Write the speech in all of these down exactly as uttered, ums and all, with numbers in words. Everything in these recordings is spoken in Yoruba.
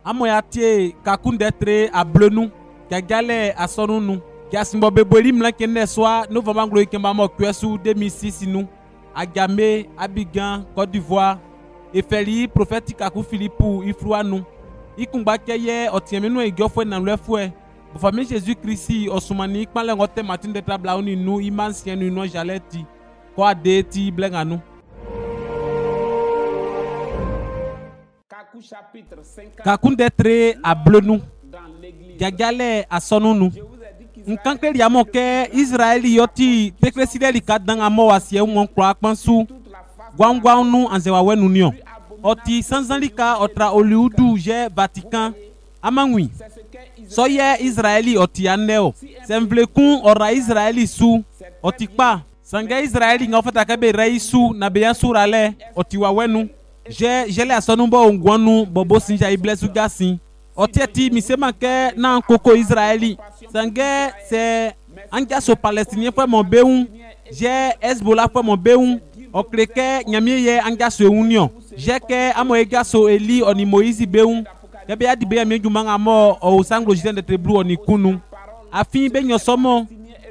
amoyati kakundetre a bleu gagale a sonunu gasimbo beboli mlankene soa novembre anglo ikemba mo kwesu deux mille six nous à Gamé, Abidjan, Côte d'Ivoire, et Feli prophétique à Philippou, Ifrouanou. Ikumba keye otiemenu e gofwe na lefwe. Pour famille Jésus-Christ au Soumani, quand le rote matin de tablaoni nous imansien nous non jaleti. Quoi de ti blenganu. Kakun detre a bleu Gagale a sonunu. Nkankle yamo ke Israeli yoti tekreside kat dan amo wasie mon kwa kwansu gwangwa nu anzewa wenu nion oti sanzalika otra Hollywood je Vatican amangwi so ye Israeli oti aneo semvlekun ora Israeli su oti pa sanga Israeli ngofata kabe raisu na beya surale oti wa wenu je jele asonumbo ngwanu bobo sinja iblesu gasin otieti misema ke na koko Israeli sangue c'est angaso palestinien foi mon beun j'ai Hezbollah foi mon beun o kreke nyamie ye angaso union j'ai que amo egaso eli oni Moïse beun ya be adi be mi juma ngamo o sanglo jiten de treblu oni kunu afin be nyosomo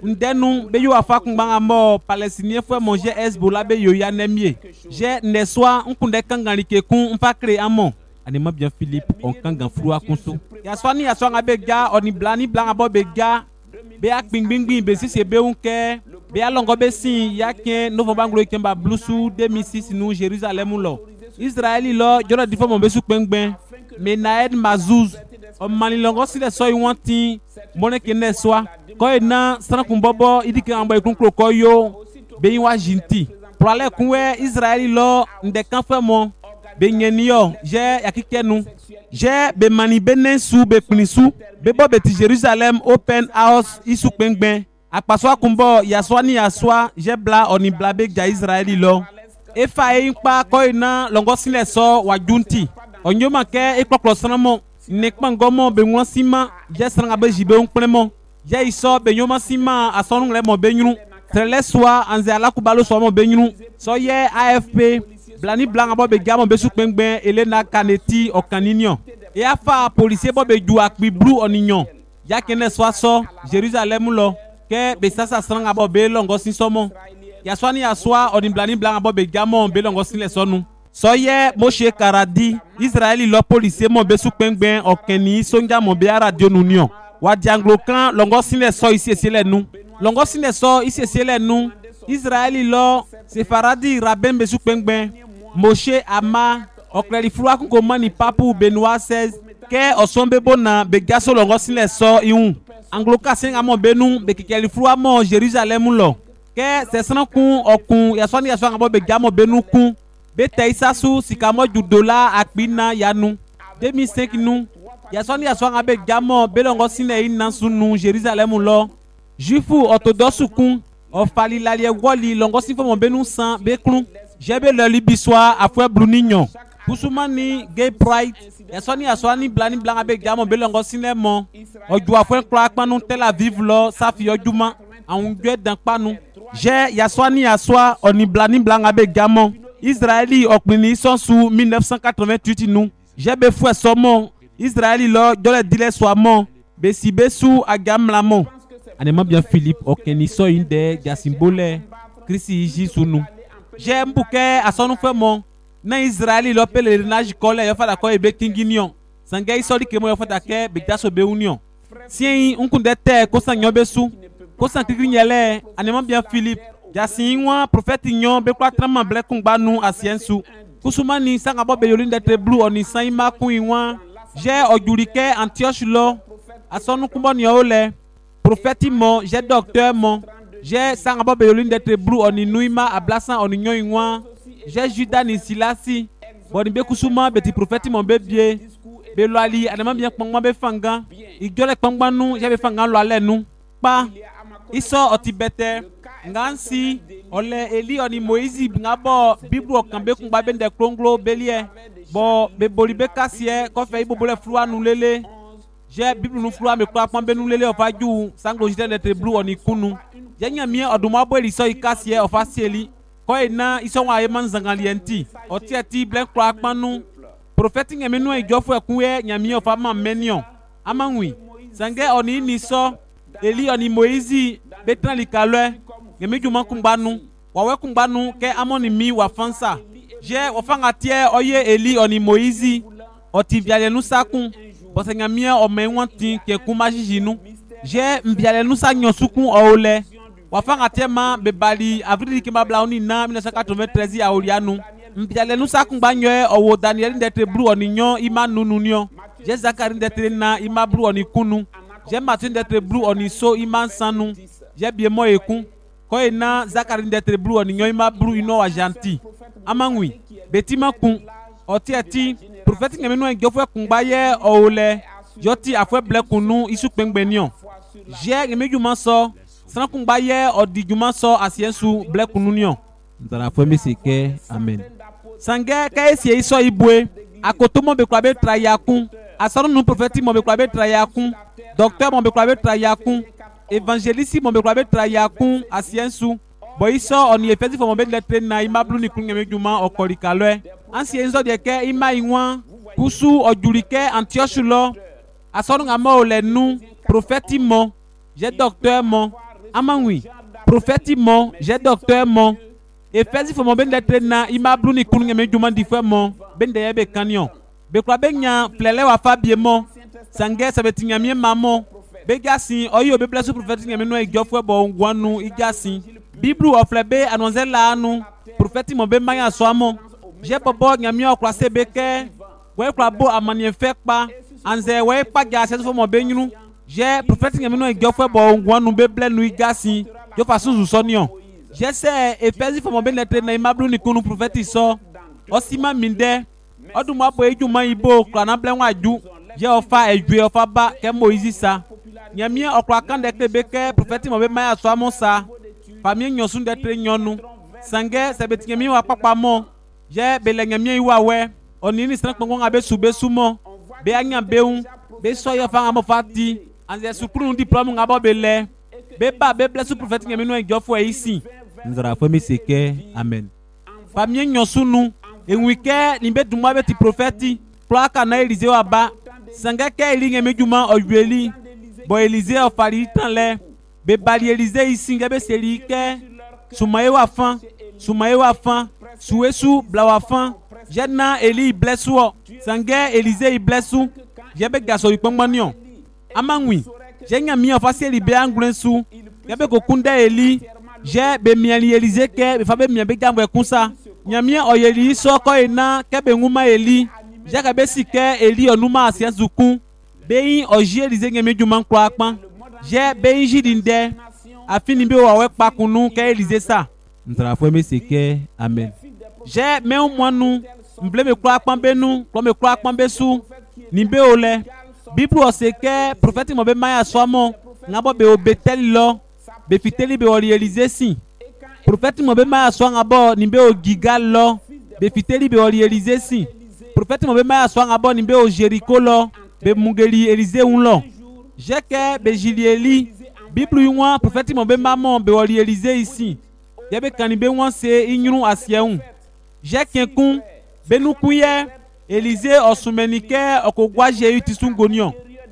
ndenu be yo afa kun ngamo palestinien foi mon j'ai Hezbollah be yo ya nemie j'ai ne soit nkunde kangani ke kun mpa kre amo anima bien Philippe on kanga frua kunsu ya swani ya swanga bega oni blani blanga bo bega be ak bing bing bing be si se be unke be alongo be sin ya ke novembre anglo ikemba blusu deux mille six nous Jérusalem lo Israeli lo jora difo mo be su pengben me naed mazuz o mani longo si le so iwanti mone ke ne swa ko ina sana kumbobo idike ambo ikunkro ko yo be yin wa jinti pour aller kunwe Israeli lo ndekan fe mo benyenio je yakikenu je be mani benen su be pnisu be bo beti Jerusalem open house isu pengben apaso akumbo yaswani yaswa je bla oni blabe ja Israeli lo efa e npa ko ina longo sile so wajunti onyoma ke ikpoklo sanamo nekpa ngomo be won sima je sanga be jibe unpremo je iso be nyoma sima asonu le mo benyunu trele soa anze ala kubalo so mo benyunu so ye A F P blani blanc abo be gamo be su pengben Elena Kaneti okaninion e afa policier bo be du akpi blue onignon ya kene so so Jerusalem lo ke be sasa sanga abo be longo sin somo ya swani ya swa oni blani blanc abo be gamo be longo sin le sonu so ye Moshe Karadi Israeli lo policier mo be su pengben okeni sonja mo be radio nunion wa dianglokan longo sin le so ici ici le nu longo sin le so ici ici le nu Israeli lo Sefaradi Rabem be su pengben Moshe Ama okleli frua kunko mani papu Benoît seize ke osombe bona be gaso longo sile so iun angloka senga mo benu be kikeli frua mo Jerusalem lo ke sesana kun okun yasoni yaswa ngabo be gamo benu kun be teisa su sikamo ju dollar akbina yanu deux mille cinq nu yasoni yaswa ngabe gamo be longo sile ina sunu Jerusalem lo juifu orthodoxe kun ofali lalie woli longo sifo mo benu san be klun jebe le libiswa afwe blunignon kusumani gay pride yasoni yaswani blani blanga be gamo be longo sinemo oju afwe kla panu Tel Aviv lo safi ojuma an gwe dan panu je yaswani yaswa oni blani blanga be gamo Israeli okpini sonsu mille neuf cent quatre-vingt-huit nu jebe fwe somo Israeli lo jole dile swamo be sibesu agamlamo anema bien Philippe okeni so inde jasimbole Christi jisunu j'ai mbouke asonu femo na Israeli lo pèlerinage kole yo fada ko ebe kinginion sanga isoli ke mo yo fada ke be daso be union sien unkunde te ko sanyo besu ko san kigrinyele anema bien Philippe jasinwa prophète nyon be kwa trama ble kungba nu asiensu kusumani sanga bo be yolinde tre blue oni sanima kuinwa j'ai ojurike Antioche lo asonu kumboni yo le prophète mo j'ai docteur mo j'ai sangabo be yolin d'être blue oni nuima ablasan oni nyoinwa j'ai Judas ni Silasi boni be kusuma beti prophète mon bebie be loali anama bien kpangba be fanga igole kpangba nu j'ai be fanga lo ale nu pa iso otibete ngansi ole eli oni Moïse ngabo bible okambe kungba be de kronglo belie bo be boli be kasie ko fe ibobole flua nu lele j'ai bible nu flua me kwa pambe nu lele ofaju sanglo jite d'être blue oni kunu jenya mie oduma bo eli so ikasie ofasieli ko ina iso wa yeman zangalienti otieti blen kwa panu prophète ngemenu e jofo ekunwe nyami of ama menio amangwi sange oni ni so Eli oni Moïse betan likalwe ngemi juma kumbanu wawe kumbanu ke amoni mi wafansa je wafanga tie oye Eli oni Moïse oti viale nu sakun parce ngamia o menwanti ke kuma jijinu je mbiale nu sa nyosukun oole wafanga tie ma bebali avril ki mabla oni na mille neuf cent quatre-vingt-treize a olianu mbiale nu sakun banyoe owo Daniel ndetre blu oni nyon ima nununio je Zakari ndetre na ima blu oni kunu je Martin d'être blue oni so iman sanu je bien mo ekun ko ina Zakari d'être blue oni nyoy ma blue ino wa gentil amangwi betima kun oti ati prophète ngemenu en gofo kun baye oole joti afwe ble kunu isu pengbenion je ngemejuma so san kun baye odi juma so asiensu ble kunu nion ndara fo mi sike amen sange ka esi iso ibwe akotomo be kwa be trayakun asoro nu prophète mo be kwa be trayakun docteur mon bekwabe trayakun évangéliste mon bekwabe trayakun asiensu boiso oni efezi fo mon be lettre na imablu ni kungeme juma okolikalwe ansienzo de ke ima iwan kusu ojulike Antioche lo asoro ngamo ole nu prophète mo j'ai docteur mo amangwi prophète mo j'ai docteur mo efezi fo mon be lettre na imablu ni kungeme juma difwe mo bende yebe kanyon bekwabe nya plele wa fabie mo sange sabetinya mie mamo begasi oyo be blessu prophète ngame no ejofwe bo ngwanu igasi biblu oflebe anonze la anu prophète mo be maya soamo je bobo ngame okra se beke we kra bo amanie fekpa anze we pa gasi fo mo be nyunu je prophète ngame no ejofwe bo ngwanu be blenu igasi yo fasu sonion je se efezi fo mo be lettre na imablu ni kunu prophète so osima minde oduma bo ejuma ibo kra na blenwa aju je ofa ejue ofa ba ke Moïse sa nyamie okra kan de kebeke prophète mo be maya so amonsa famille nyosun de tre nyonu sange sebeti nyamie wa papa mo je bele nyamie iwa we onini san kpongo ngabe sube sumo be anya beun be so yo fa ngamo fati anze sukuru diplôme ngabo bele be ba be blessu prophète nyamie no ejofo e isi nzara fo mi seke amen famille nyosunu enwike nimbe dumwa be ti prophète plaka na Élisée wa ba sanga ke elinge mejuma oyeli bo Élisée ofari tanle be bali Élisée ici ngabe seli ke sumaye wa fan sumaye wa fan suesu bla wa fan jenna Eli blessu sanga Élisée i blessu yebe gaso ikpongmanion amangwi jenya mi ofasi li be anglensu yabe ko kunda Eli je be miali Élisée ke be fa be mi be gambo ekunsa nyamie oyeli so ko ina ke be nguma Eli jaka besike Eli onuma asienzukun beyin oji Élisée ngeme juma nkwa akpan je beyin jidinde afini be wa we pakunu ke Élisée sa ndra fo me seke amen je me umwanu mble me kwa akpan benu ko me kwa akpan besu ni be ole bible oseke prophète mo be maya somo ngabo be obetel lo be fiteli be ori Élisée si prophète mo be maya so ngabo ni be o gigal lo be fiteli be ori Élisée si prophète mo be maya so ngabo ni be o Jéricho lo be mungeli Élisée un lo jeke be Jilieli bible ywa prophète mo be mamon be ori Élisée ici yebe kanibe wan se inyunu asieun jeke kun be nukuye Élisée osumenike okogwa Jéhu tisungonion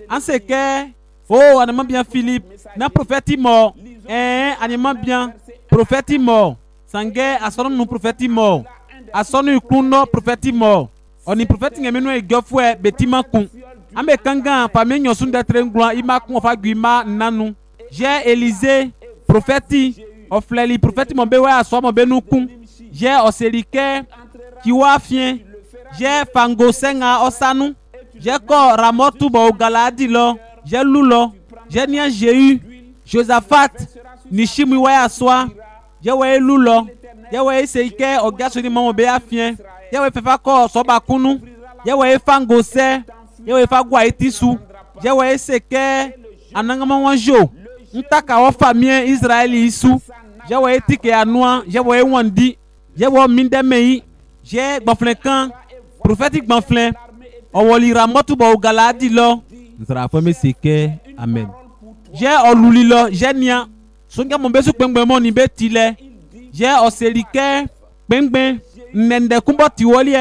anseke oh anima bien Philippe na prophète mo eh anima bien prophète mo sange asono nu prophète mo asono ikuno prophète mo oni prophète ngemenu egofwe betima kun ambe kanga pame nyosun de trengwa ima kun ofa gwima nanu je Élisée prophète ofleli prophète mo be wa aso mo be nukun je oselike kiwa fien je fango senga osanu je ko ramotu bo galadi lo je lulo je nia Jéhu Josaphat nishimi wa aswa je wa lulo je wa seike ogaso ni mo be afien je wa fefa ko so bakunu je wa fango se je wa fa gwa etisu je wa seke anangama wanjo ntaka wa famille Israeli isu je wa etike anua je wa wandi je wa mindemei je gbaflekan prophétique banflin owoli ramotu bo galadi lo nzara fo me seke amen je oluli lo je nia songa mo besu pengbe mo ni betile je oselike pengbe nende kumbo tiwolie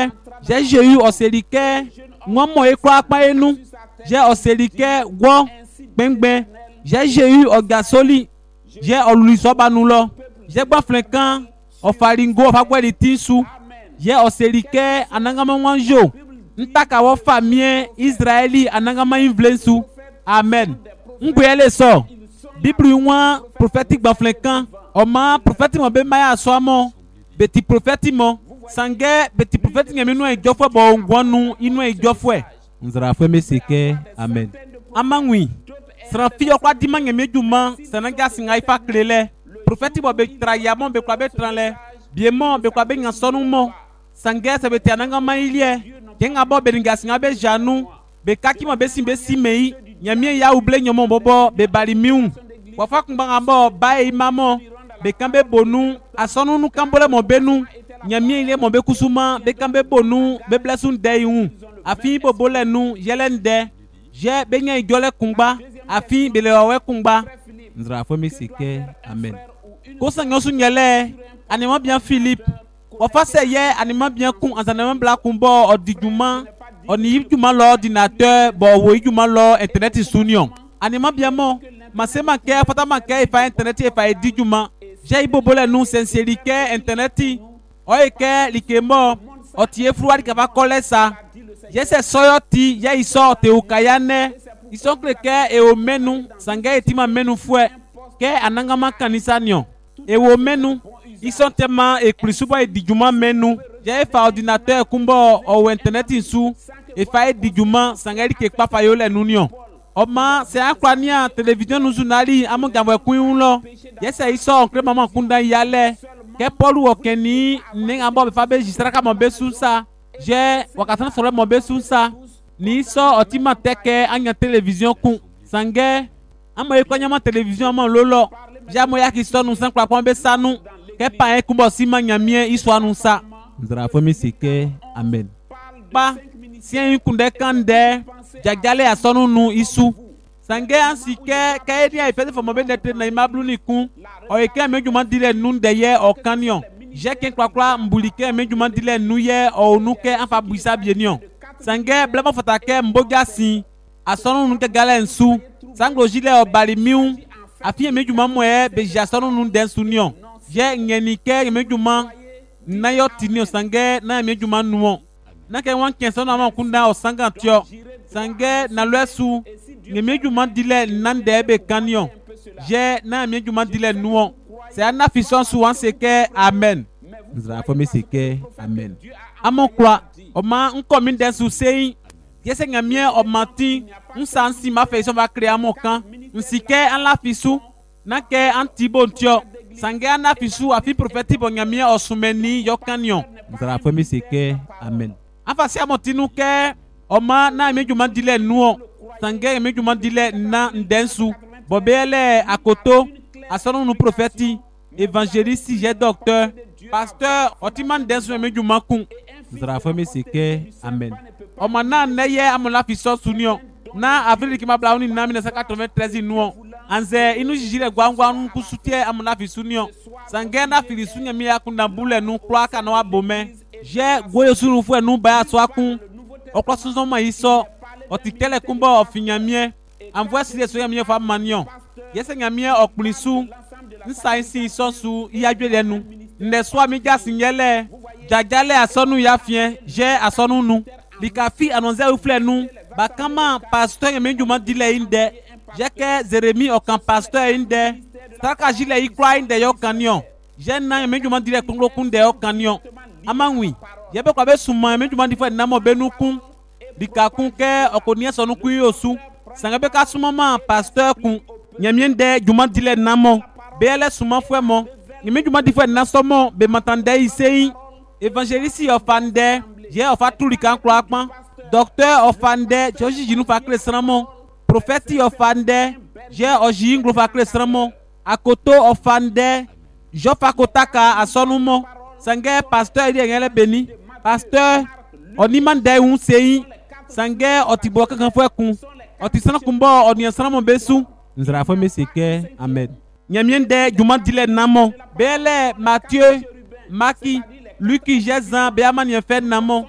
J'ai Jéhu Osélike, moi moi et quoi pas et nous. J'ai Osélike, Gwo, Bengben. J'ai Jéhu Ogasoli. J'ai Oluisobanulo. J'ai Baflekan, Ofaringo, Fagweli Tinsu. J'ai Osélike, Anangama Wanjo. Ntaka wa famille Israeli, Anangama Invlensu. Amen. Mbouye so. Bible one prophétique Baflekan. Oma prophétique mo be maya soamo. Beti prophétique mo. Sange beti prophétique ngemi e jofo bo ngwanu inu e jofo e. Nzara fe meseke. Amen. Amangwi. Sra fi okwa dima ngemi djuma, sananga singa ifa klele. Prophétique bo be traya mo be kwa be tranle. Biemo be kwa be ngansonu mo. Sange se beti ananga mailie. Kenga bo be nga singa be janu. Be kaki mo be simbe simei. Nyamie ya ouble nyomo bobo be balimiu. Wafa kumbanga bo bae imamo. Be kambe bonu asonu nu kambole mo benu. Nyamie ile mo be kusuma be kambe bonu be blesun deyun. Afi bobole nu yelende. Je be nya idole kumba. Afi be lewe kumba. Nzra fo mesike. Amen. Kosa nyosu nyele anima bien Philippe. Wafa se ye anima bien kun anzanema bla kumbo odijuma. Oni yijuma lo ordinateur bo wo yijuma lo internet sunion. Anima bien mo masema ke fatama ke ifa internet ifa edijuma. J'ai ibobole nu sincérité internet. Oike likemo otie fruari kaba kolesa. J'ai se soyoti ye iso te ukayane. Iso kleke e o menu sanga etima menu fue ke anangama kanisa nyon. E o menu iso tema e krisuba e dijuma menu. J'ai fa ordinateur kumbo o internet insu e fa e dijuma sanga ke pa fayole nunion. Oma se akwania télévision nous journali amo gamwe kun lo. Yes e iso onkre mama kunda yale. Ke Paul okeni ninga bo be fa be jistraka mo be sunsa. Je wakatana sore mo be sunsa. Ni so otima teke anya télévision kun. Sange amo ekonya ma télévision mo lolo. Ja mo yaki so nu san kwa kwa be sanu. Ke pa e kumbo sima nyamie iso anu sa. Ndra fo mi sike. Amen. Ba si en kunde kande jagale asonu nu isu. Sange ansike kaedi a ipete fomo be nete na imablu ni kun. O eke mejuma dile nun de ye o kanyon. Je ken kwa kwa mbulike mejuma dile nu ye o nuke anfa buisa bienyon. Sange blama fatake mboga si asonu nu ke gale nsu. Sanglo jile o balimiu. Afi mejuma moe be jasonu nu den sunyon. Je ngenike mejuma na yo tinio sange na mejuma nuo. Na ke wan kenso na ma kunda o sanga tio. Sange na lwesu ngemejuma dile nande be kanyon. Je na mejuma dile nuo. C'est un affichon souvent c'est que amen. Nous avons fait que amen. Amon quoi? Oma un commune d'un souci. Yes nga mien o mati. Un sansi ma fait va créer mon camp. Un sike an la fisu. Na ke antibon tio. Sange an afisu afi prophétique bon nga mien o soumeni yo kanyon. Nous avons fait que amen. Afasi amotinu ke oma na mejuma dile nuo. Sange mejuma dile na ndensu. Bobele akoto. Asono nous prophète, évangéliste, j'ai docteur, pasteur, otiman densu mejuma kun. Zara fami sike amen. Omana neye amola fiso sunio. Na avril ki mabla uni na mille neuf cent quatre-vingt-treize nuo. Anze inu jijile gwangwa nu kusutie amola fisunio. Sange na filisunya mi akunda bule nu kwa kana abome. Je goyo sunu fu nu ba so akun. Okwa sunzo ma iso. Otikele kumbo ofinyamie. Envoie si so yamie fa manion. Yese nyamie okunisu nsa isi sosu iyadwe nu nde so mi ja sinyele jajale asonu yafien je asonu nu likafi anonze ufle nu bakama pasteur yemejuma dile inde jeke Zeremi okan pasteur inde straka jile ikra inde yo kanyon je na yemejuma dile kunlo kunde yo kanyon amanwi yebe kwa be suma yemejuma difo na mo benukun likakun ke okonie sonu kun yosu sangabe ka suma ma pasteur kun nyamiende juma dile namo bele suma fwe mo nyame juma difwe na somo be matande isei évangéliste ofande je ofa tulika nkro akpan docteur ofande joji jinu fa kresramo prophète ofande je oji ngro fa kresramo akoto ofande jo fa kotaka asonumo sange pasteur ide ngele beni pasteur oniman dai un sei sange otiboka kan fwe kun otisana kumbo oniasana besu. Nous avons fait que amen. Nyamiende juma dile namo. Bele Matthieu, Maki, Luc, Jézan, Béaman y fait namo.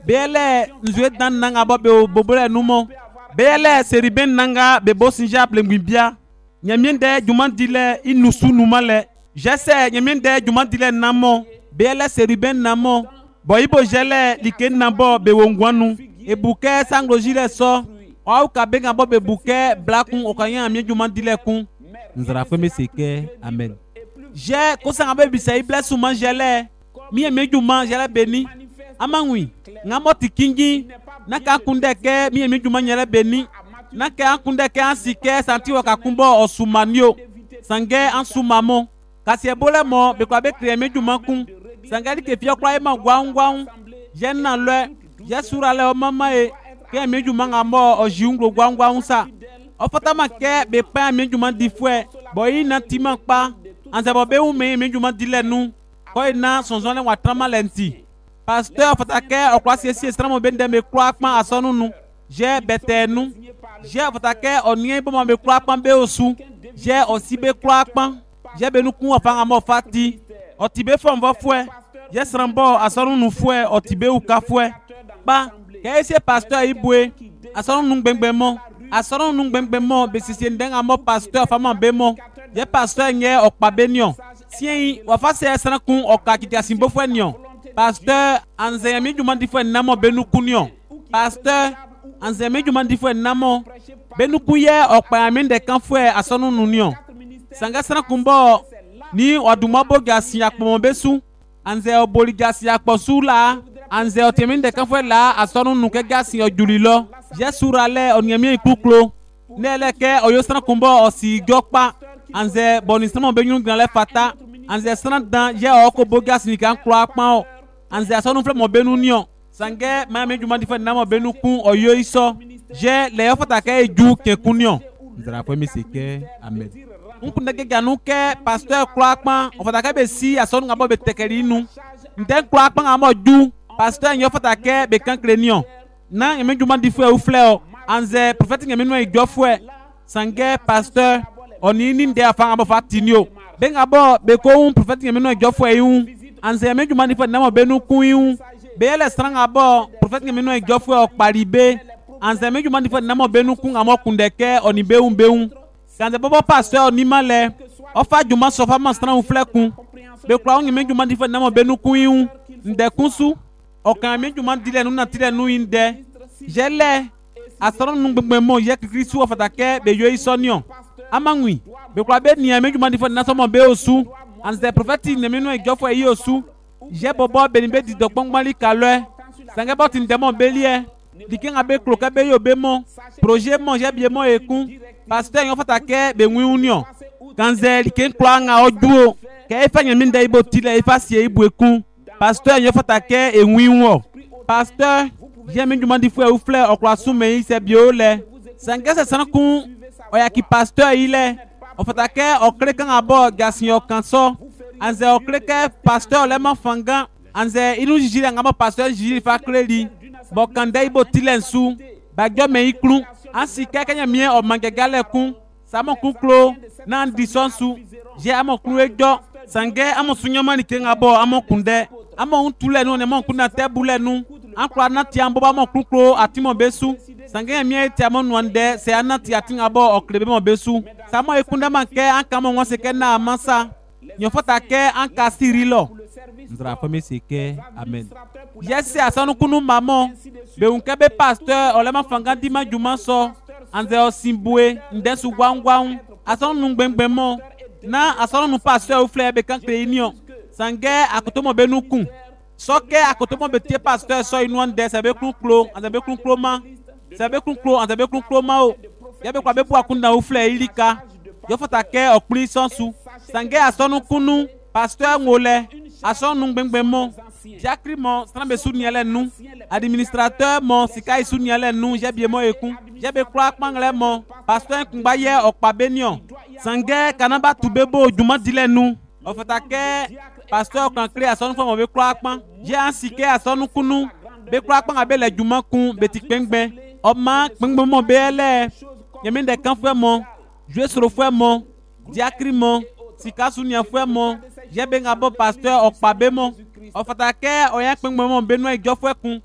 Bele nzwe dan nanga bo be bobole numo. Bele seriben nanga be bo sinja blengwibia. Nyamiende juman dile inusu numale. Jesse nyamiende juman dile namo. Bele seriben namo. Bo ibo jele like nabo be wongwanu. E bouquet sanglojile so. Ou kabenga bo be bouquet blakun okanya amie juman dile kun. Nzara feme seke. Amen. J'ai kosanga be bisa ible suman jele. Mi eme juman jele beni. Amangwi. Ngamo tikingi. Naka kundeke mi eme juman jele beni. Naka kundeke ansike santi wakakumbo osumanyo. Sange ansumamo. Kasi ebole mo be kwa be kre eme juman kun. Sangali ke fio kwa ema gwaun gwaun. Jen nan le. Je sura le o mama e. Ke eme juman ngamo o jiunglo gwaun gwaun sa. O fatama ke be pa eme juman di fwe. Boyi na timan pa. Anse bo be ou me eme juman di le nou. Koy na sonzon le watrama lenti. Pasteur fatake o kwa si esi estramo bende me kwa akman asonu nou. Je bete nou. Je fatake o nye bo me kwa akman be osu. Je osi be kwa akman. Je be nou kun afanga mo fati. O tibe fon vo fwe. Je srambo asonu nou fwe o tibe ou ka fwe. Ba, ke esi pasteur ibwe. Asonu nou gbengbe mo. Asonu nou gbengbe mo be sisi ndenga mo pasteur fama be mo. Je pasteur nye okpa benyon. Si wafa se esran kun oka kiti asimbo fwe nyon. Pasteur anze yami juman di fwe namo benu kunyon. Pasteur anze yami juman di fwe namo benu kuye okpa yami de kan fwe asonu nunyon. Sanga esran kumbo ni waduma bo gasi yakpo besu. Anze oboli gasi yakpo su la. Anze otemi de kan fwe la asonu nuke gasi ojulilo. Je surale onyami ikuklo. Neleke oyo esran kumbo osi gyokpa. Anze bonisamo benyun granle fata. Anze esran dan je oko bogas ni kan klo akpan. Anze asonu fle mo benu nyon. Sange ma me juma di fe na mo benu kun oyo iso. Je le ofata ke eju ke kunyon. Nzara fwe mi seke. Amen. Unku ndege ganu ke pasteur klo akpan. Ofata ke be si asonu ngabo be tekeri nu. Nten klo akpan ngamo ju. Pasteur nyo ofata ke be kan krenyon. Na yeme juma di fwe ou fle o. Anze prophète ngeme no ejo fwe. Sange pasteur oni ni nde afanga bo fatinyo. Benga bo be ko un prophète ngeme no ejo fwe yun. Anze yeme juma di fwe na mo benu kun yun. Be ele stranga bo prophète ngeme no ejo fwe ok paribe. Anze yeme juma di fwe na mo benu kun amo kundeke oni be un be un. Kanze bobo pasteur oni male. Ofa juma sofa man strang fle kun. Be kwa ngeme juma di fwe na mo benu kun yun. Nde kunsu. Okan yeme juma di le nu na tile nu inde. Jele asoro nu gbegbe mo ye Kristu ofata ke be yo isonyon. Amangwi be kwa be ni ame juma di fo na so mo be osu. Anze prophète ne me no ejo fo yi osu. Je bobo be ni be di dokpongmali kalwe. Sange boti ndemo be lie. Dikin abe kloka be yo be mo. Projet mo je bie mo ekun. Pasteur yon fata ke be nwi union. Kanze dikin kwa nga oduo. Ke efa nyemi nda ibo tile efa sie ibo ekun. Pasteur yon fata ke e nwi unwo. Pasteur j'aime du monde frère ou frère au croissant mais c'est bio le sangue c'est sans kun oya ki pasteur il est on fait que au cléquant à bord gasinyo kanso anze au cléquer pasteur le mafanga anze inu jiji ngama pasteur jiji fa cléli bo kanda ibo tilensu bagyo me iklu ansi kekanya mie o mangegale kun samo kun klo nan disonsu je amo klu ejo sangue amo sunyoma ni kenga bo amo kunde amo untule no ne mo kunna tebule nu ankwa nati amboba mo kuklo atimo besu sange mi eti amo nwande se anati atinga bo oklebe mo besu samo ekunda manke anka mo wonse ke na amansa nyofota ke anka sirilo ndra fami seke amen yesi asonu kunu mamo be unke be pasteur olema fanga dima juma so anze osimbue ndesu gwangwang asonu ngbengbe mo na asonu nu pasteur ou fleur be kan créunion sange akotomo benukun soke akotomo betie pasteur so inwande sabe kunklo azabe kunklo ma sabe kunklo azabe kunklo ma o yabe kwa be bu akunda ou fleur ilika yo fota ke okpli sonsu sange asonu kunu pasteur ngole asonu ngbengbe mo Jacri mo strambe suniele nu administrateur mo sikai suniele nu jebie mo ekun jebe kwa kpangle mo pasteur kungba ye okpa benyon sange kanaba tubebo juma dile nu ofata ke pasteur kan kre asonu fo mo be kwa kpan je ansike asonu kunu be kwa kpan abe le juma kun beti kpengbe oma kpengbe mo be ele yemi de kan fo mo jouer sur fo mo Jacri mo sika sunia fo mo jebe ngabo pasteur okpa be mo ofata ke oya kpengbe mo be no ejo fo kun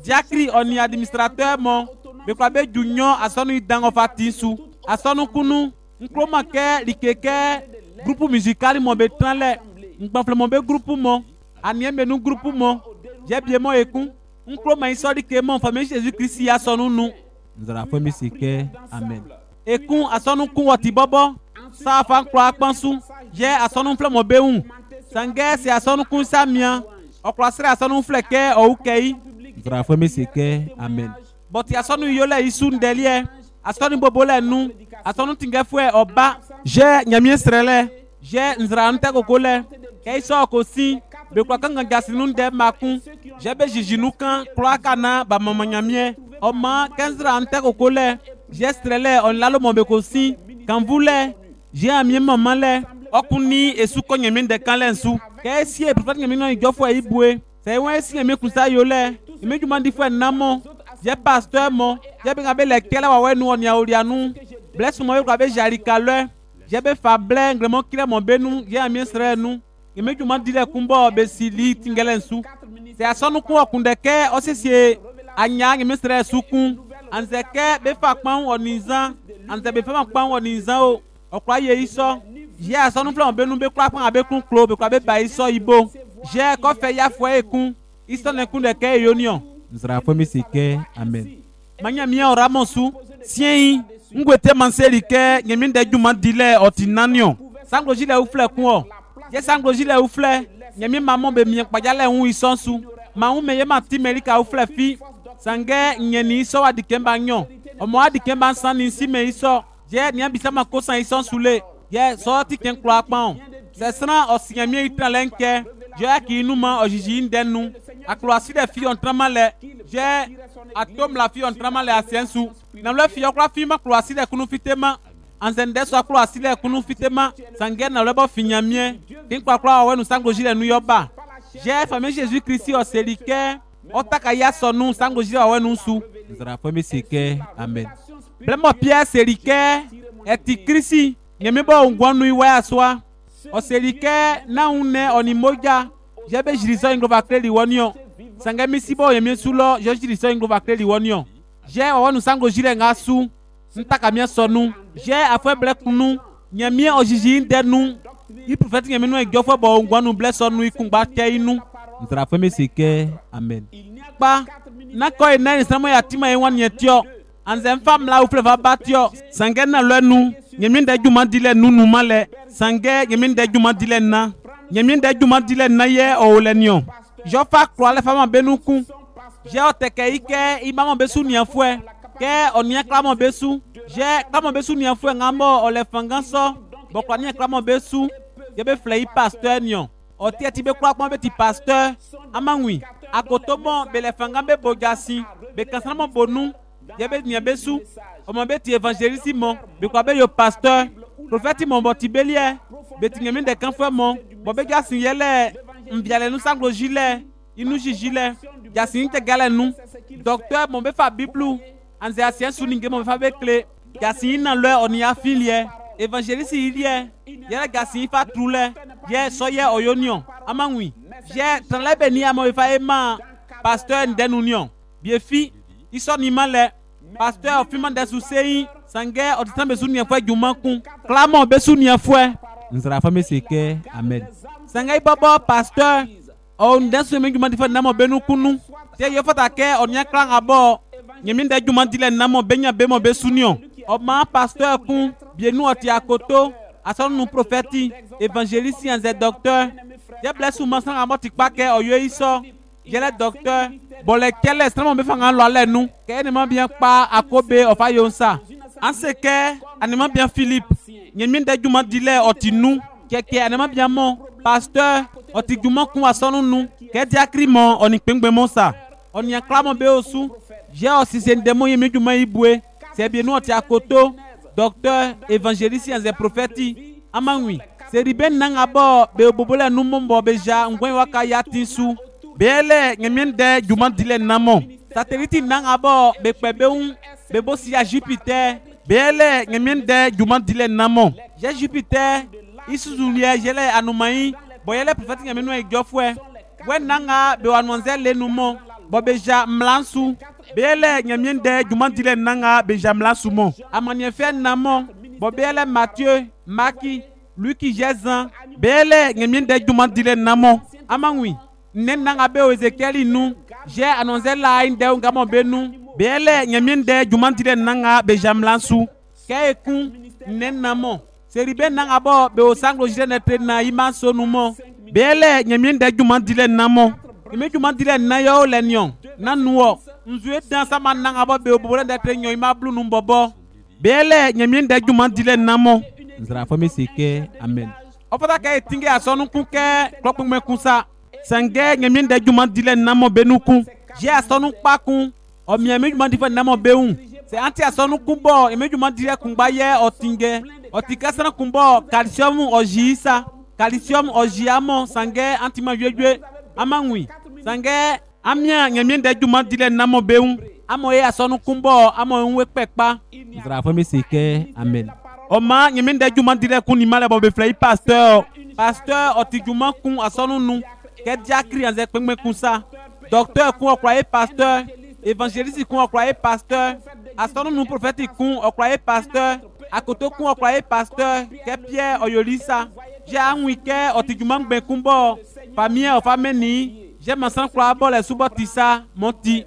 diacri oni administrateur mon be kwa be junyo asonu idango fatinsu asonu kunu nkroma ke likeke groupe musical mo be tranle ngbafle mo be groupe mo aniembe nu groupe mo je bien mo ekun nkroma isori ke mo famille Jésus Christ ya sonu nu nzara fo mi sike amen ekun asonu kun woti bobo sa fa nkro akpansu je asonu fle mo be un sange si asonu kun samia okrasre asonu fle ke o ukei nzara fo mi sike amen but asonu yole isu ndelie asonu bobole nu asonu tingefue oba je nyamie srele je nzra nte kokole ke iso ko si be kwa kanga jasinu nde makun je be jijinu kan kwa kana ba mama nyamie o ma kenzra nte kokole je srele on lalo mo be ko si kan vule je amie mama le okuni esu ko nyamie de kan lensu ke si e prophet nyamie no ijofo ibue se won si nyamie kusa yole imejuma di fo namo je pasteur mo je be ngabe le kele wa wenu oni aurianu bless mo yo ngabe jarika le je be fa ble ngremo kile mo benu je amie sre nu imejuma di le kumbo be sili tingelensu se asonu ku okundeke osisi anya ngi misre sukun anzeke be fa pan onizan anze be fa pan onizan o okwa ye iso je asonu fle mo benu be kwa pan abe kun klo be kwa be ba iso ibo je ko fe ya fo ekun iso ne kun de ke yonion nzra fo mi sike amen manya mi ora monsu sien ngwete manseli ke nyemi de juma dile otinanion sanglo jile u fle kun o je sanglo jile u fle nyemi maman be mi pajale hu isonsu ma hu meye ma ti merika u fle fi sange nyeni iso adikemba nyon omo adikemba san ni si me iso je ni abisa ma ko san isonsu le je so ti ken klo apon se sran osinyemi itran lenke je ki inuma ojiji ndenu akloasi de fi on tramale je atom la fi on tramale asiensu na le fi okra fi ma kloasi de kunu fitema anzende so kloasi de kunu fitema sange na le bo finyamie kin kwa kwa wenu sanglo jile nu yoba je famille Jésus Christ o selike otaka ya sonu sanglo jile wenu su nzara fo mi sike amen blemo Pierre selike eti Christ nyemi bo ngwanu iwe aswa o selike na une oni moja je be jiriso inglo va kreli wonio sanga misibo yemi sulo je jiriso inglo va kreli wonio je wonu sango jire ngasu ntaka mia sonu je afwe blekunu nyami ojiji ndenu i prophet nyami no egofo bo ngwanu blessonu ikungba ke inu ntra fo mesike amen pa na ko ina ni samo ya tima enwan yetio anze mfam la ufle va batio sange na lenu nyami nda juma dile nunu male sange nyami nda juma dile na nyami nda juma dile na ye o lenio jo fa kro le fama benuku je oteke ike imamo besu ni afwe ke onia klamo besu je klamo besu ni afwe ngamo ole fanganso bokwa ni klamo besu je be flei pasteur nion oti ati be kwa be ti pasteur amangwi akotobo be le fangambe bojasi be kansamo bonu je be ni besu o mo be ti évangéliste mo be kwa be yo pasteur prophète mo boti belie be ti ngemi de kan fwe mo bo be jasin yele mbiale nu sanglo jile inu jijile jasin te gale nu docteur mo be fa biblu anze asien suninge mo be fa be clé jasin na le oni afilie évangéliste ilie yele jasin fa trule ye soye oyonion amangwi je tranlebe ni amo be fa ema pasteur ndenunion bien fi iso ni male pasteur ofima de susei sange otitambe sunia fwe jumankun clamo be sunia fwe nzara fa meseke amen sangai babo pasteur on denso me juma difa namo benu kunu te yo fata ke onya klan abo nyemi nda juma dile namo benya bemo be sunio o ma pasteur kun bienu oti akoto ason nu prophète évangéliste en docteur je bless ou mansan amoti pake oyo iso je le docteur bole kele extrêmement be fanga lo ale nu ke ni ma bien pa akobe of ayonsa anseke anima bien Philippe nyemi nda juma dile oti nu keke anima bien mon pasteur oti juma kun asonu nu ke diakri mo oni pengbe mo sa oni aklamo be osu je osi se ndemo yemi juma ibue se bien nu oti akoto docteur évangéliste en prophète amangwi se riben nanga bo be bobole nu mombo be ja ngwen waka yatinsu bele ngemiende juma dile namo satellite nanga bo be pebeun be bosi ya Jupiter bele ngemiende juma dile namo je Jupiter isuzulie jele anumai boyele prophète ngamenu ejofwe we nanga be wanonze lenumo bobeja mlansu bele nyamiende jumandile nanga beja mlansu mo amanyefe namo bobele Matthieu Maki Luki Jézan bele nyamiende jumandile namo amangwi nenanga be Ezekiel nu j'ai annoncé la inde ngamo benu bele nyamiende jumandile nanga beja mlansu keku nenamo seribe nanga bo be osanglo jene na imanso numo bele nyamiende jumandile namo ime jumandile na yo lenyon nanuo nzue dan sama nanga bo be obole ndatre nyo ima blu nu bobo bele nyamiende jumandile namo nzra fami sike amen opata ka etinge asonu kunke klopme kunsa sange nyamiende jumandile namo benuku je asonu pakun o miami jumandile namo beun c'est anti asonu kumbo ime jumandile kumbaye otinge otikasana kumbo calcium ojisa calcium ojiamo sange anti majwe amangwi sange amia nyamiende jumandile namo beun amo ye asonu kumbo amo nwe pepa nzra fami sike amen oma nyamiende jumandile kuni male bo be flai pasteur pasteur otijuma kun asonu nu ke diakri anze pengme kunsa docteur kun okwaye pasteur évangéliste kun okwaye pasteur asonu nu prophète kun okwaye pasteur akoto kun okwaye pasteur ke Pierre oyolisa je anwike otijuma ngbe kumbo famille o fameni je mansan kwa bole subotisa monti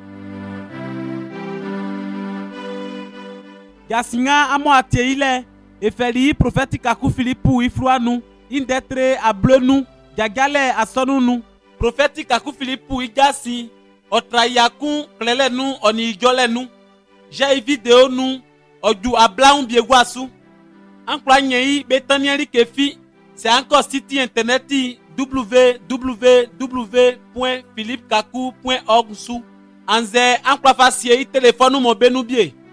yasinga amo ateile efeli prophète kaku Philippe ifruanu indetre ablenu jagale asonunu prophète kaku Philippe igasi otrayakun klelenu oni ijolenu j'ai vidéo nu oju ablaun biegwasu ankla nyei betanieri kefi c'est encore site internet w w w point philippe kaku point org su anze ankla fasie téléphone mo benu bie